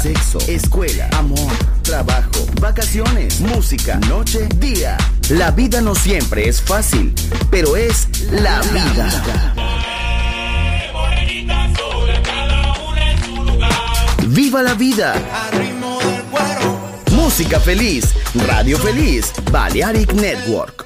sexo, escuela, amor, trabajo, vacaciones, música, noche, día. La vida no siempre es fácil, pero es la vida. ¡Viva la vida! Música feliz, radio feliz, Balearic Network.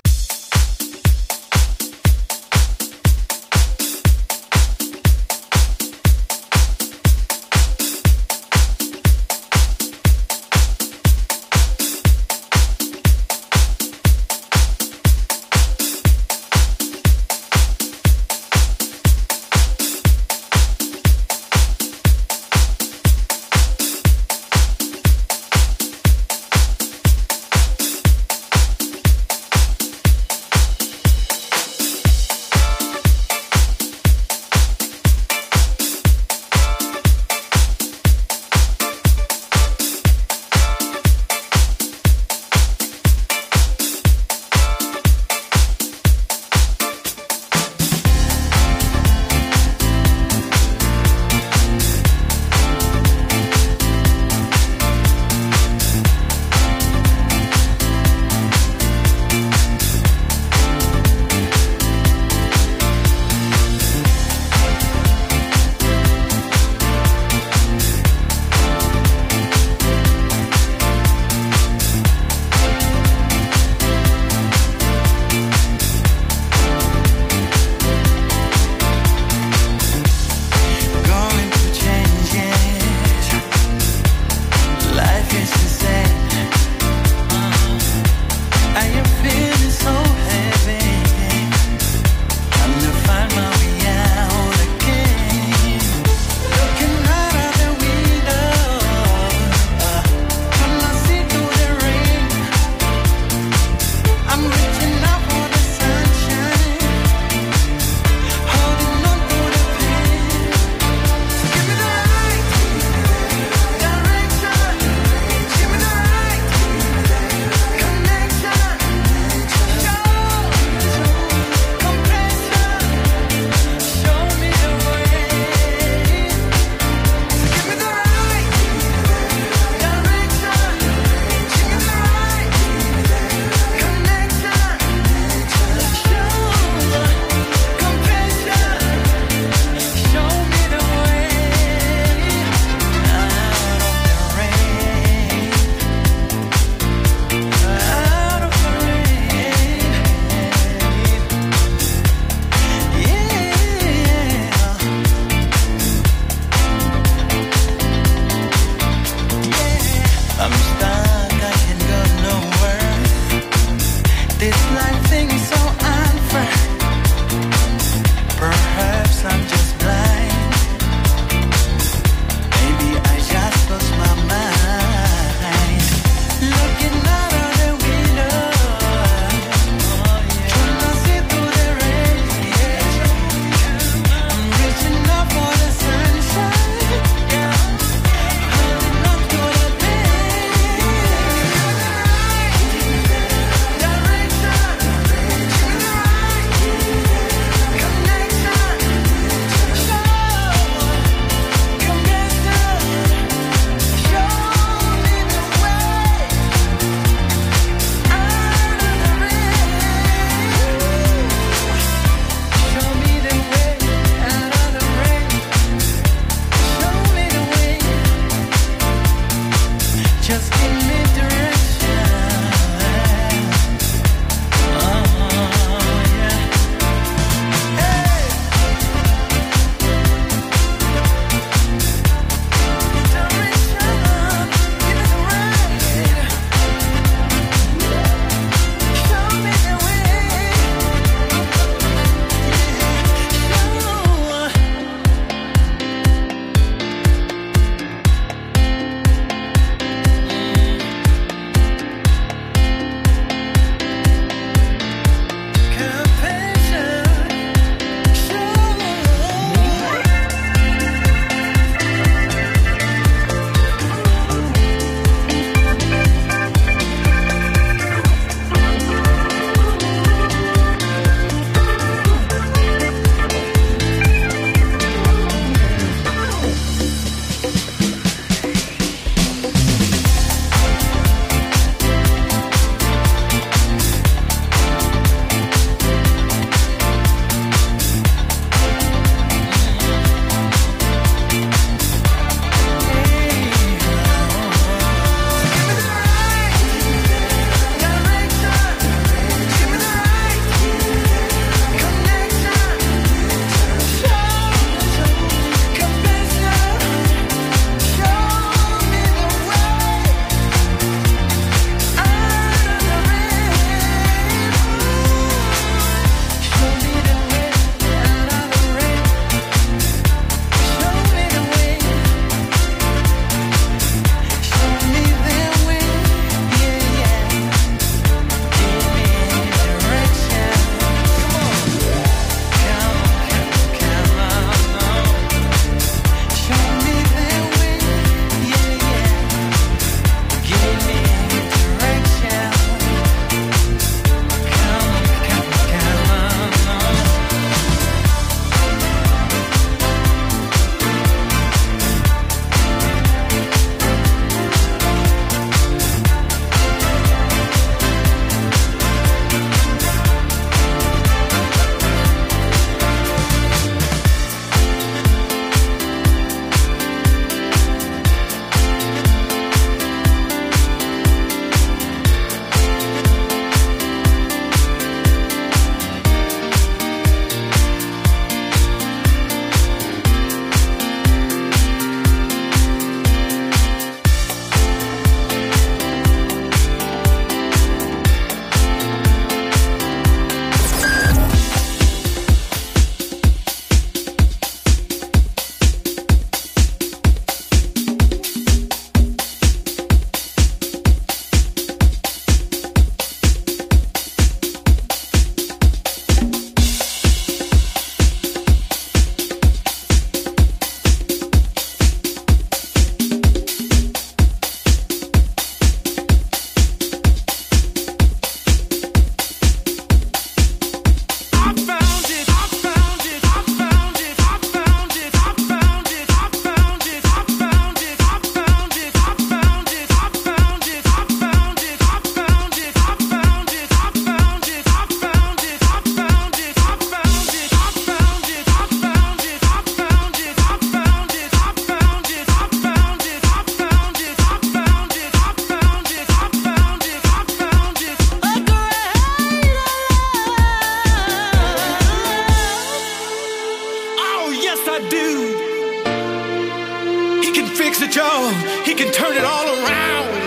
fix it, y'all. He can turn it all around.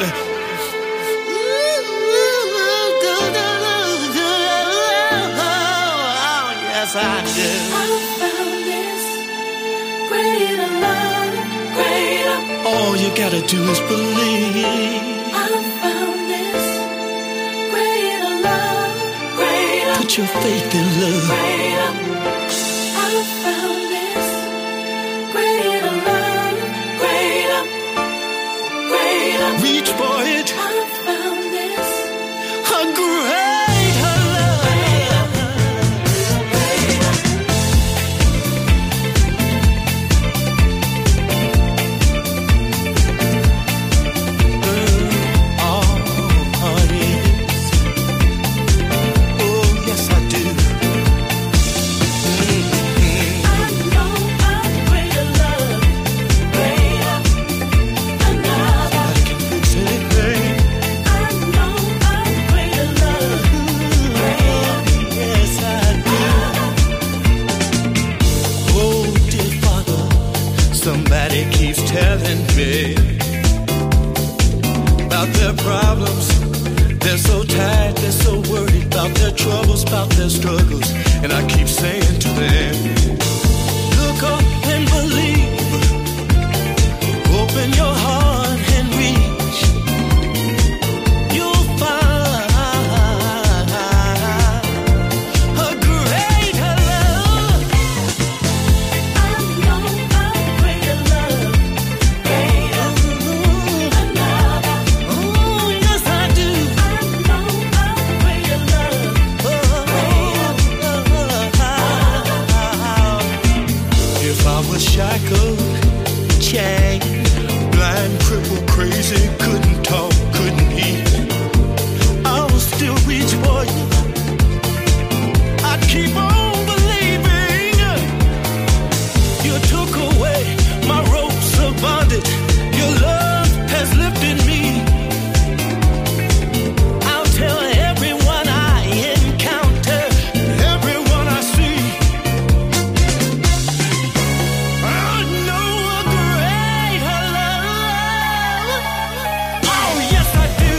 Yes, I do. I found this greater love, greater. All you gotta do is believe. I found this greater love, greater. Put your faith in love. Greater. I found this greater love, greater, greater. Reach for it. I found this A greater love. Somebody keeps telling me about their problems. They're so tired, they're so worried about their troubles, about their struggles. And I keep saying to them, look up and believe. Open your heart and reach. You'll find a greater love. I know a greater love, greater, another. Oh, yes, I do. I know a greater love, If I was shackled, chained, blind, crippled, crazy, couldn't talk, couldn't eat, I would still reach for you. I'd keep on believing. You took away my ropes of bondage. Your love has lifted me. I'll tell everyone I encounter, everyone I see. I know a greater love. Oh, yes, I do.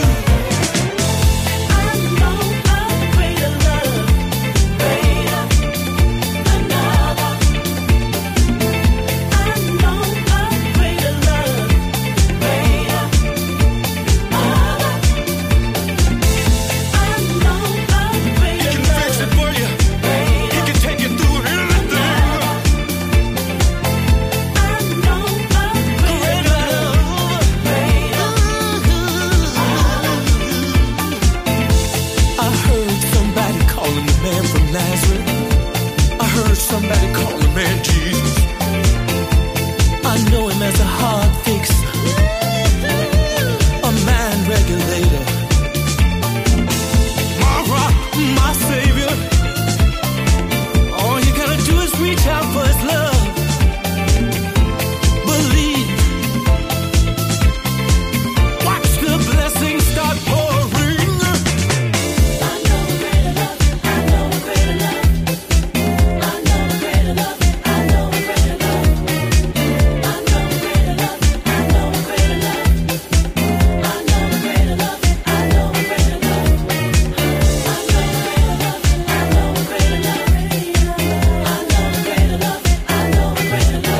I know a greater love, greater, another. I know a greater love, greater, other. I know a He greater can fix it for you. He can take you through anything. I know a Greater love. I heard somebody calling the man from Nazareth. I heard somebody call the man Jesus. I know him as a heart fixer, a mind regulator, my rock, my savior. All you gotta do is reach out for his love. Believe. Watch the blessings start pouring. I know a greater love, I know a greater love. I know a greater love, I know a greater love. I know a greater love, I know a greater love. I know a greater love, I know a greater love. I know a greater love, I know a greater love. I know a greater love, I know a greater love. I know a greater love, I know a greater love. I know a greater love, I know a greater love.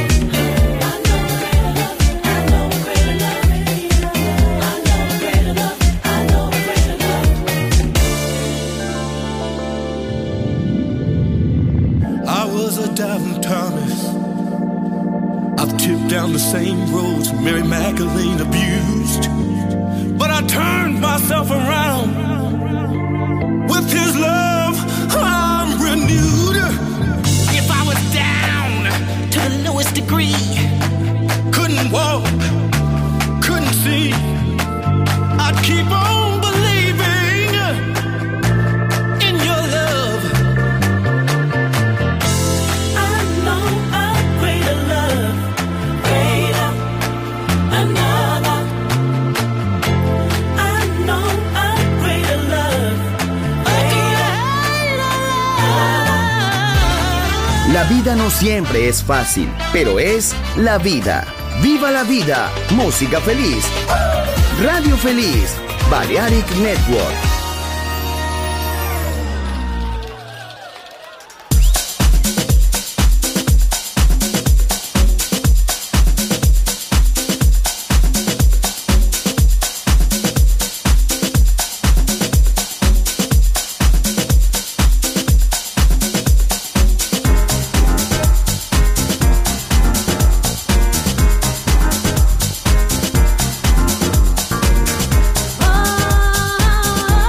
I was a doubting Thomas. I've tipped down the same roads Mary Magdalene abused. But I turned myself around. With his love, I'm renewed. If I was down to the lowest degree, couldn't walk, couldn't see, I'd keep on believing in your love. I know a greater love, greater, another. I know a greater love, greater, La vida no siempre es fácil, pero es la vida. Viva la vida, música feliz. Radio Feliz, Balearic Network. Oh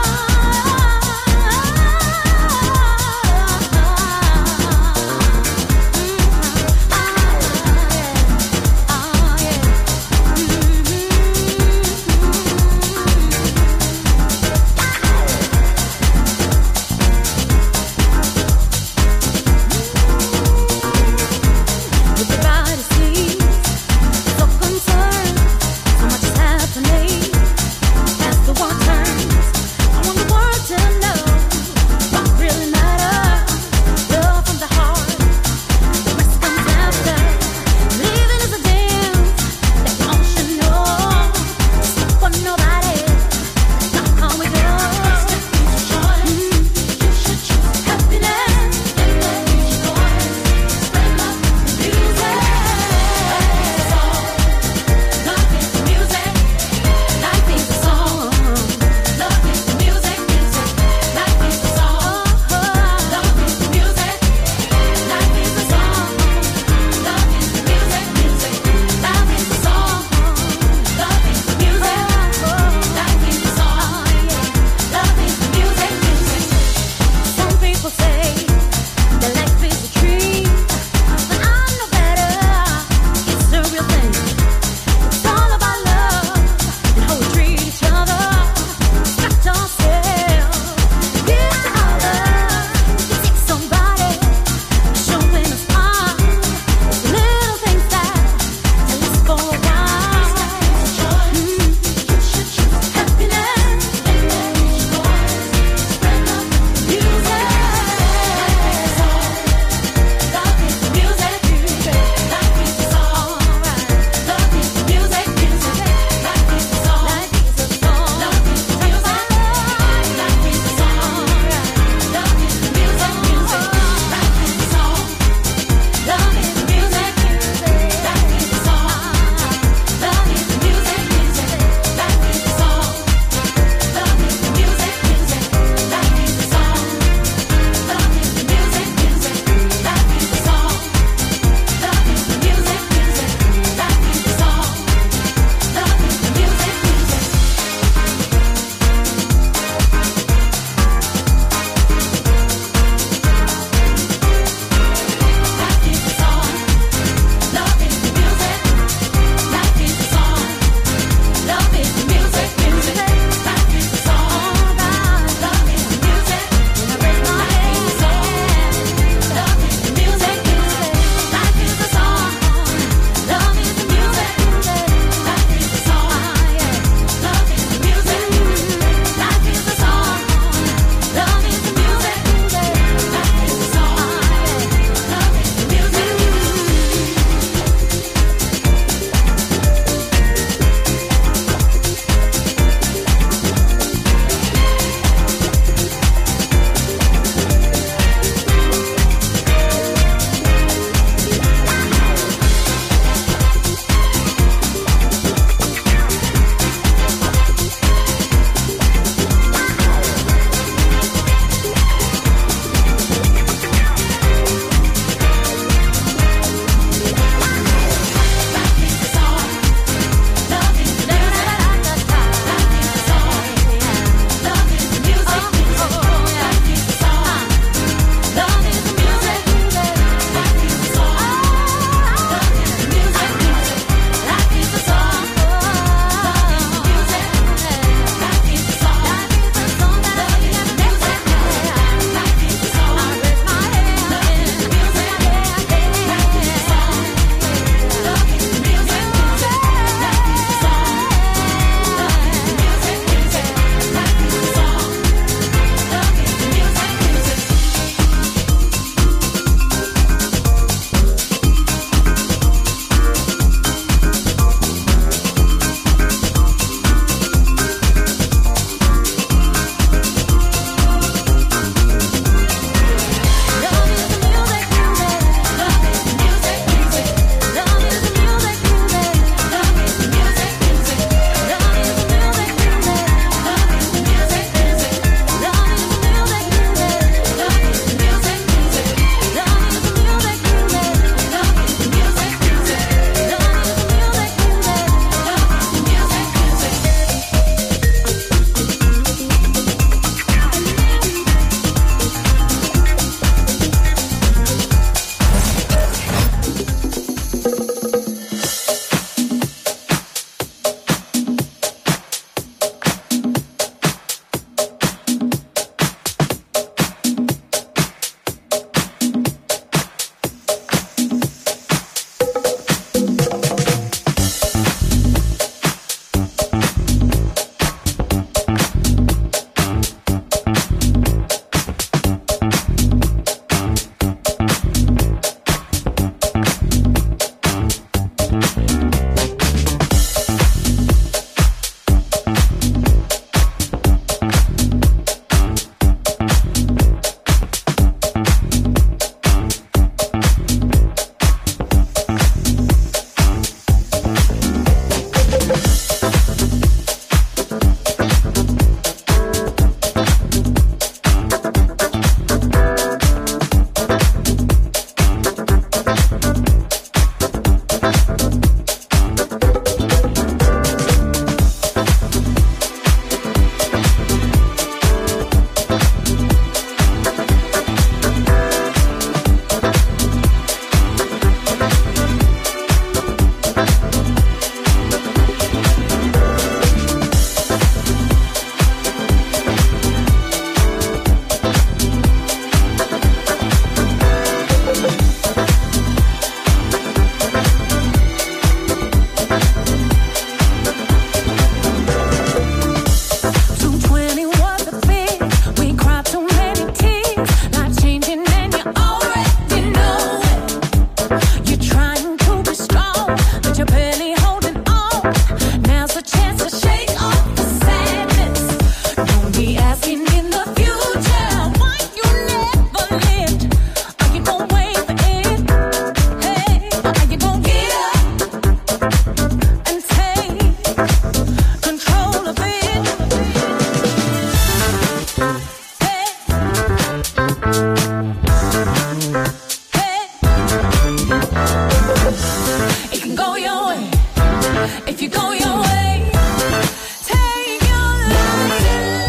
If you go your way, take your life and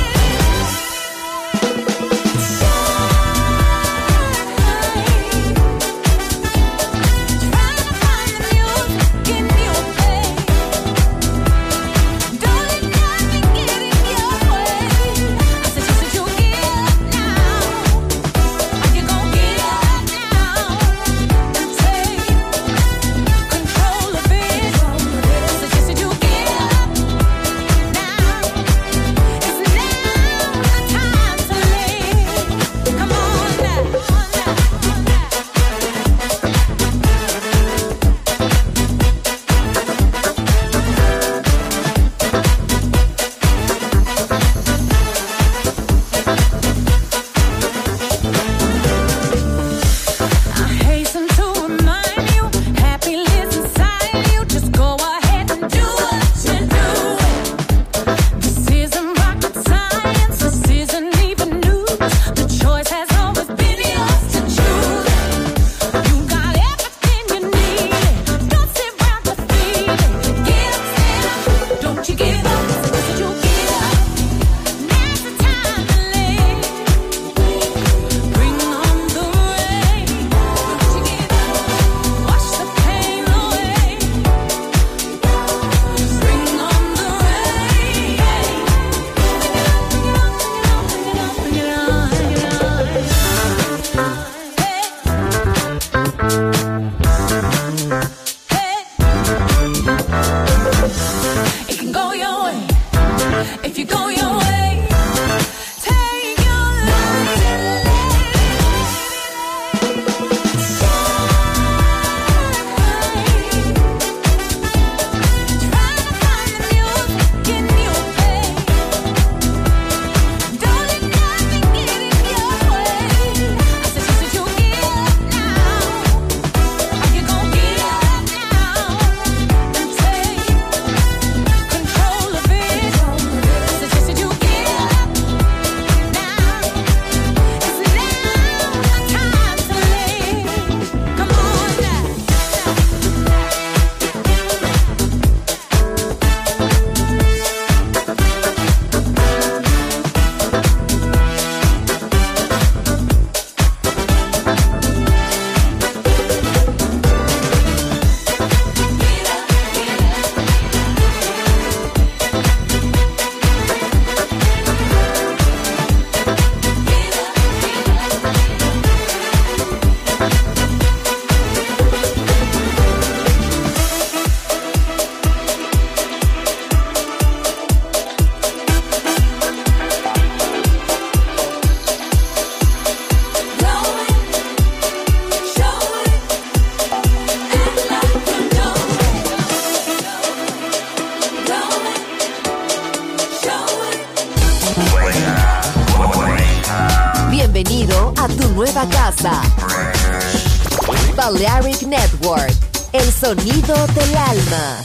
try to find the music in your pain. Don't let nothing get in your way. I suggest that you get up now. Are you gonna get up now and take control of it? I suggest that you get up now. It's now the time to live. Come on now. I hasten to remind you, happiness inside you. Just go ahead and do what you do. This isn't rocket science, this isn't even news. The choice has always been yours to choose. You got everything you need. Don't sit around defeated. Get up, stand up. Don't you give up. Suggest you get up. Now's the time to live. Bring on the rain. Don't you give up. Wash the pain away. Bring on the rain. Bring it on, bring it on. It can go your way. If you go your way, take your life and try to find the music in your pain. Don't let nothing get in your way. I suggest that you get up now. Are you gonna get up now and take control of it? I suggest that you get up now. It's now the time to live. Come on now. Bienvenido a tu nueva casa. Balearic Network, el sonido del alma.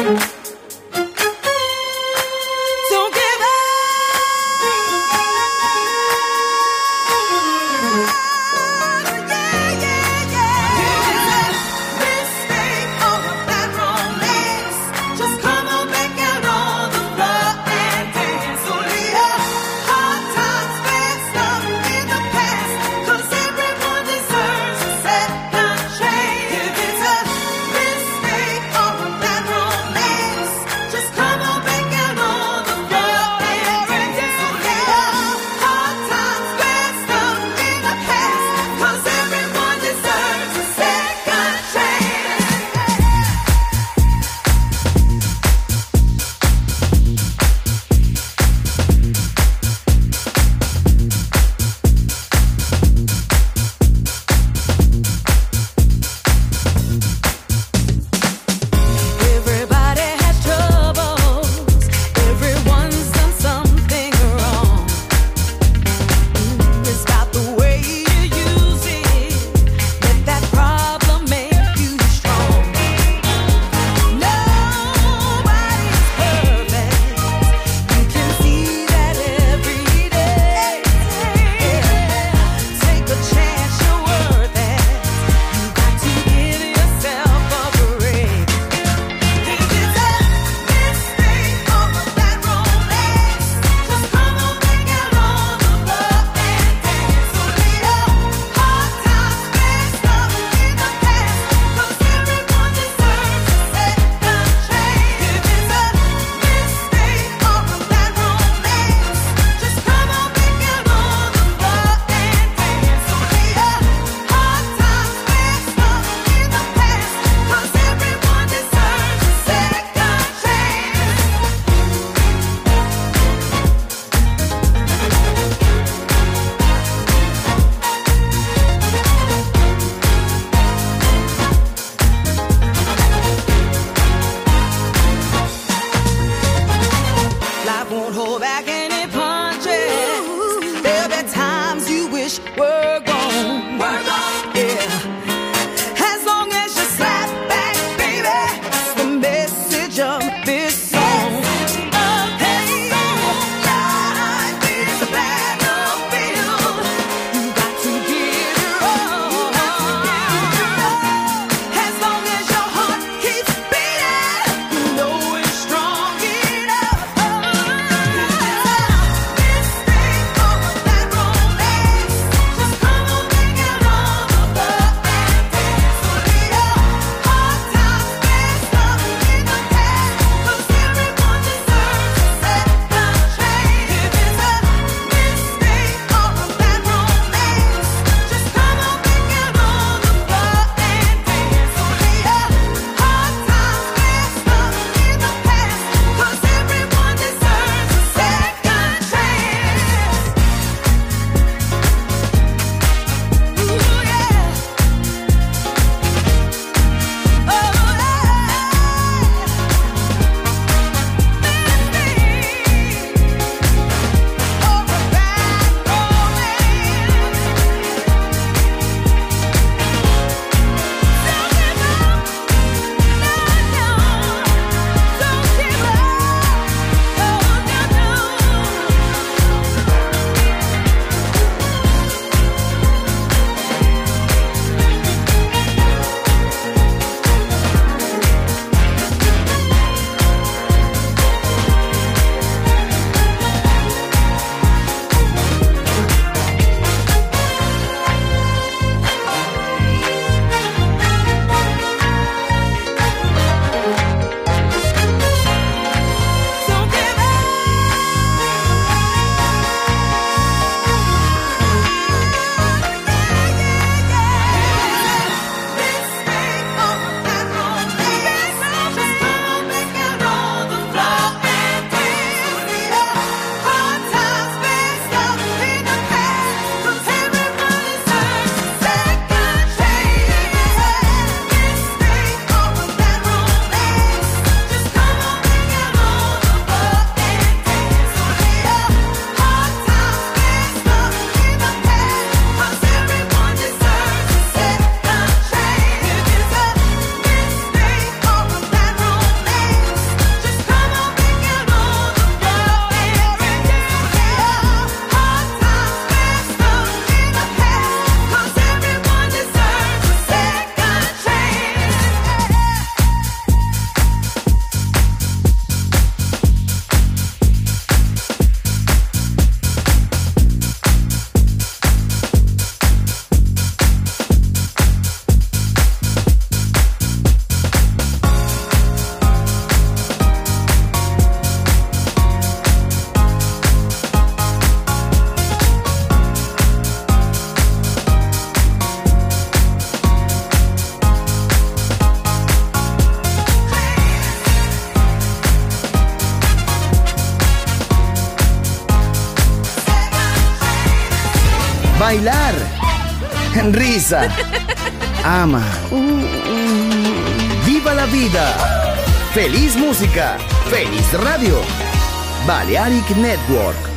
Don't give up. Yeah, yeah, yeah. Mistake over that romance. Just come on back out on the floor and dance. Only a hard times fixed up in the past. 'Cause everyone deserves a second chance. If it's a mistake over that romance, just come on back out on the floor and dance. Only a hard times fixed up in the past. 'Cause everyone deserves a second chance. Everybody has troubles. Everyone's done something wrong. It's about the way you use it. Let that problem make you strong. Nobody's perfect. You can see that every day. Take a chance, you're worth it. You got to give yourself a break. If it's a mistake over that romance, just come on back out on the floor and dance. Only a hard times fixed up in the past. 'Cause everyone deserves a second chance. If it's a mistake over that romance, just come on back out on the floor and dance. Only a hard times fixed up in the past. 'Cause everyone deserves a second chance. Life won't hold back any punches. There'll be times you wish were gone. Yeah. As long as you slap back, baby, that's the message of this song. Hey, life is a battlefield. You got to give your all. As long as your heart keeps beating, you know it's strong enough. Mistake over that romance. Just come on back out on the floor and dance. Only a hard times fixed up in the past. 'Cause bailar, risa, ama, viva la vida, feliz música, feliz radio, Balearic Network.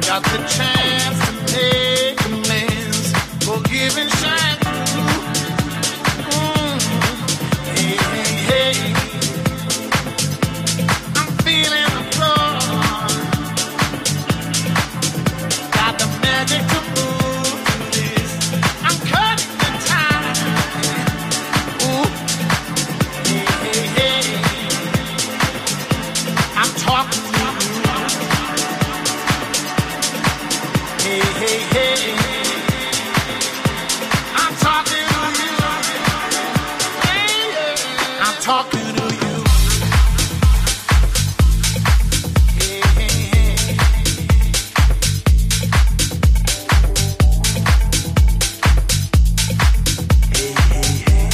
got the chance to make amends, forgive and shine through. Hey, hey, hey. I'm feeling the floor. Got the magic to move through this. I'm cutting the time. Ooh. Hey, hey, hey. I'm talking to you. Hey, hey, hey. I'm talking to you. Hey, yeah. I'm talking to you. Hey, hey, hey. Hey, hey, hey.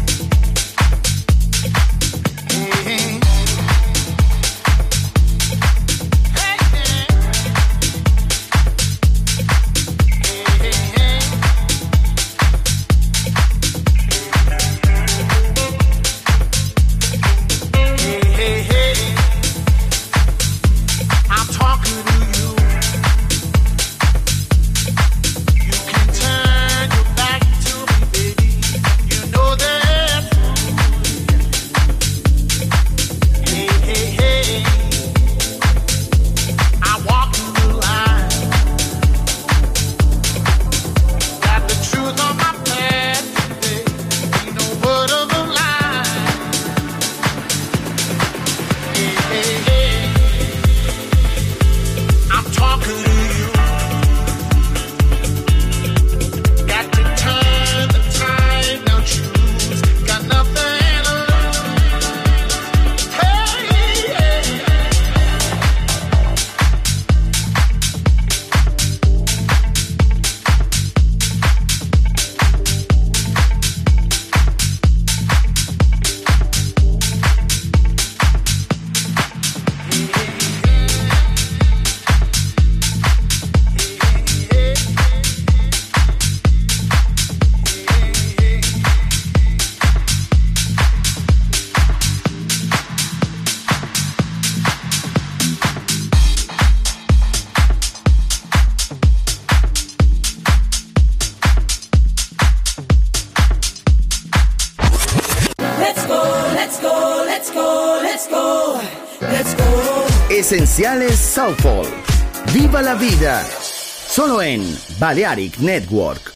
Hey, hey. Hey, hey, hey. I'm talking to you. You can turn your back to me, baby. You know that. Hey, hey, hey. I'm walking the line. Got the truth on my past today. Ain't no word of a lie. Hey, hey, hey. I'm talking to you. Got to turn the tide, now choose. Got nothing to lose. Hey, hey. Let's go, let's go, let's go, let's go, let's go. Esenciales Soulful. Viva la vida. Solo en Balearic Network.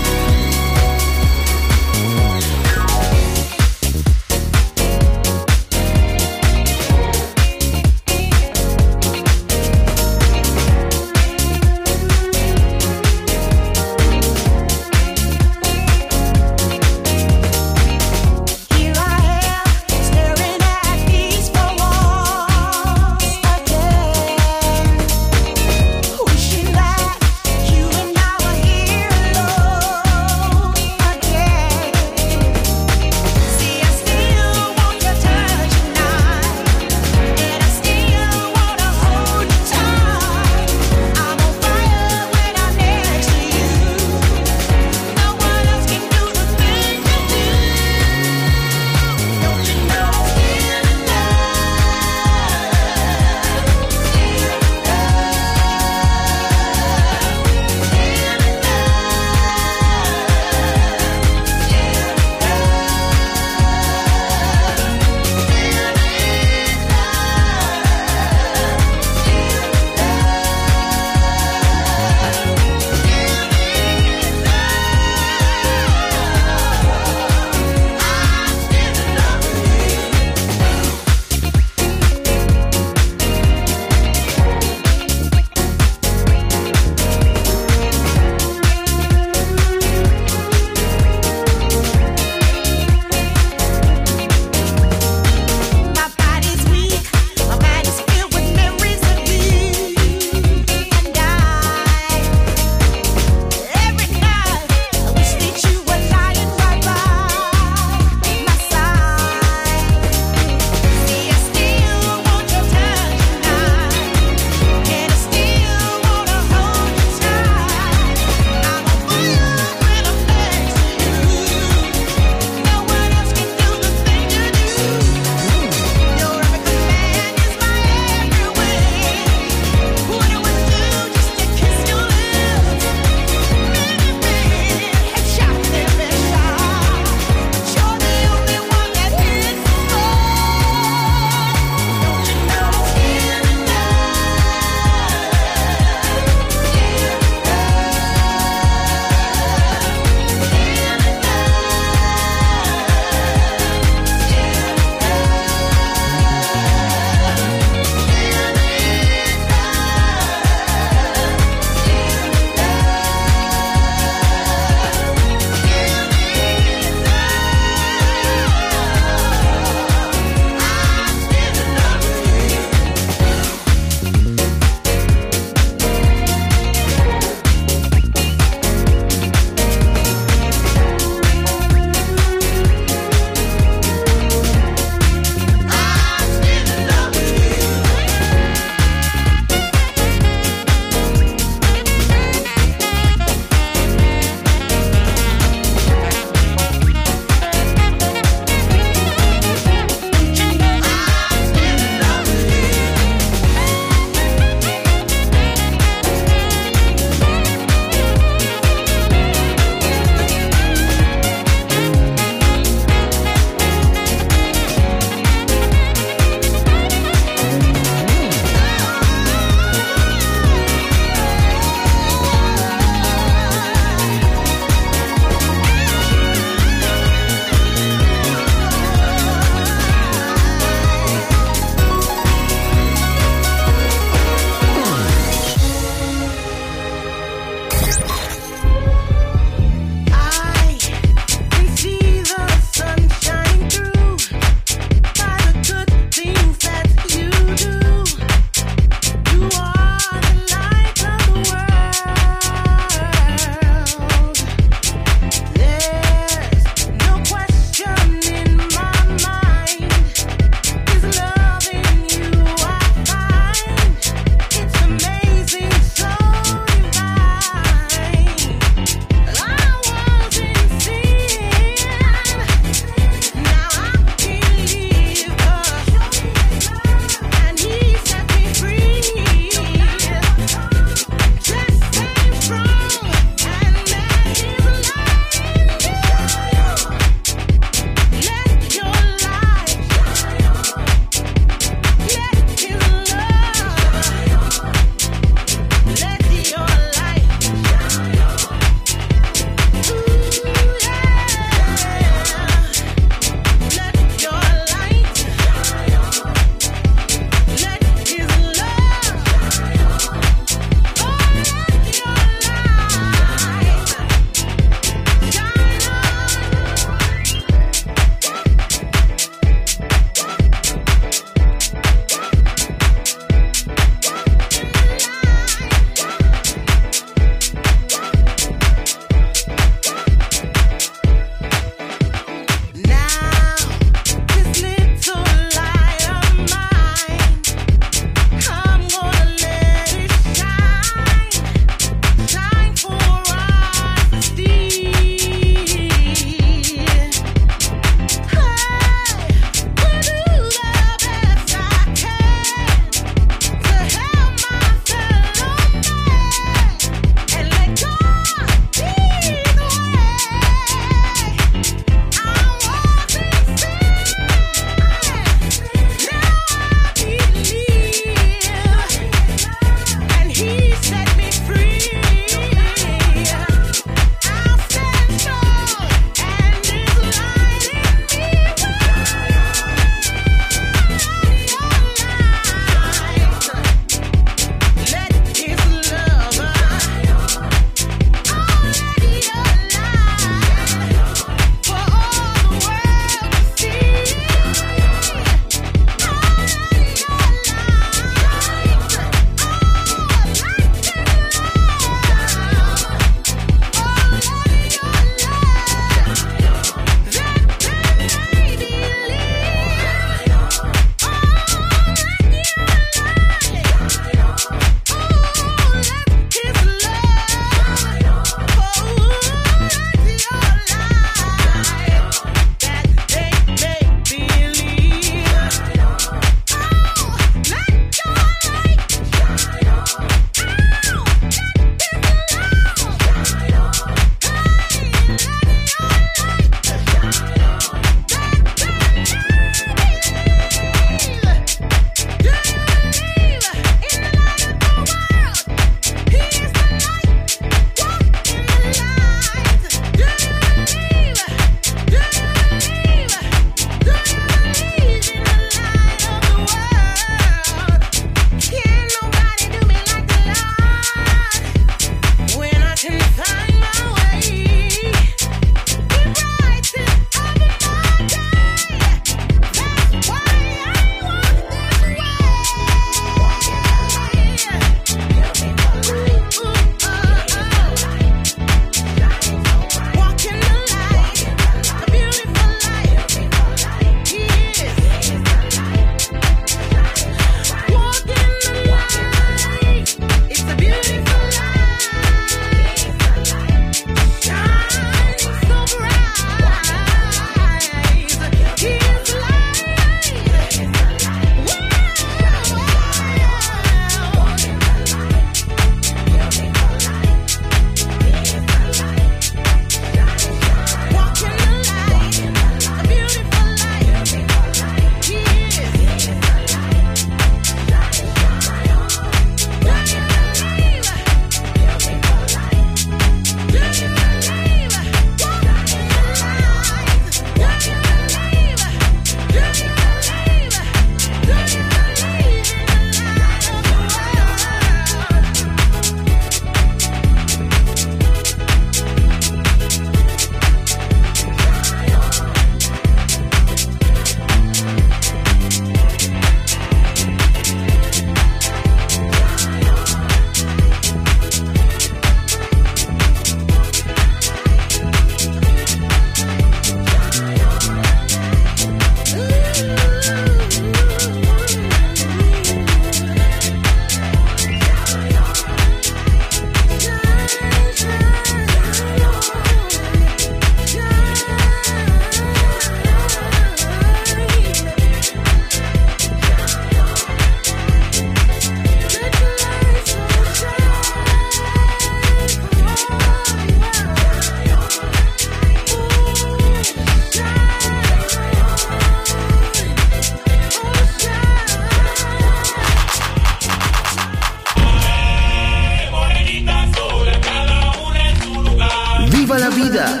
Viva la vida.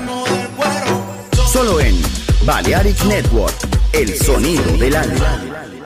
Solo en Balearic Network, el sonido del alma.